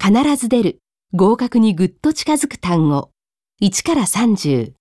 必ず出る、合格にぐっと近づく単語。1から30。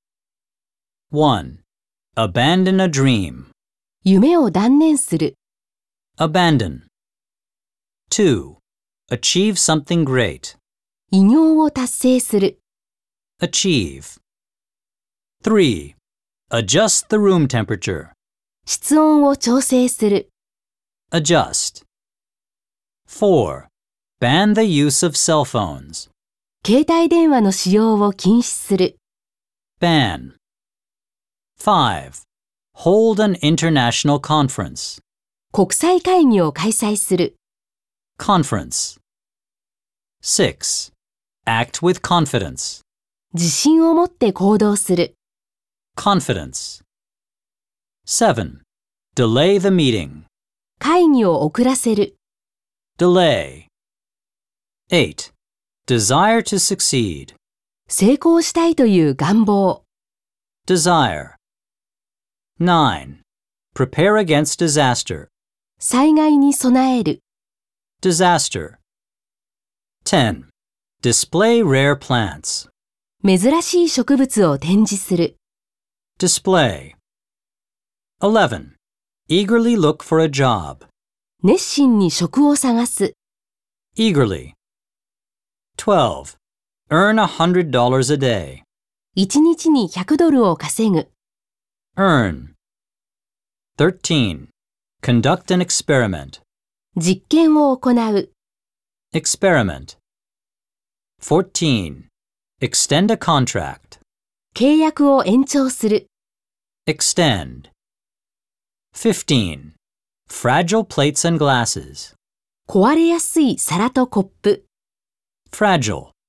1. Abandon a dream. 夢を断念する。 Abandon. 2. Achieve something great. 偉業を達成する。 Achieve. 3. Adjust the room temperature. 室温を調整する。 Adjust. 4. Ban the use of cell phones. 携帯電話の使用を禁止する。 Ban. 5. Hold an international conference. 国際会議を開催する。 Conference. 6. Act with confidence. 自信を持って行動する。 Confidence. 7. Delay the meeting. 会議を遅らせる。 Delay. 8. Desire to succeed. 成功したいという願望。 Desire. 9. Prepare against disaster. 災害に備える。 Disaster. 10. Display rare plants. 珍しい植物を展示する。 Display. 11. Eagerly look for a job. 熱心に職を探す。 Eagerly. 12. Earn $100 a day. 1日に100ドルを稼ぐ。 Earn. 13. Conduct an experiment. 実験を行う。 Experiment. 14. Extend a contract. 契約を延長する。 Extend. 15. Fragile plates and glasses. 壊れやすい皿とコップ。 Fragile.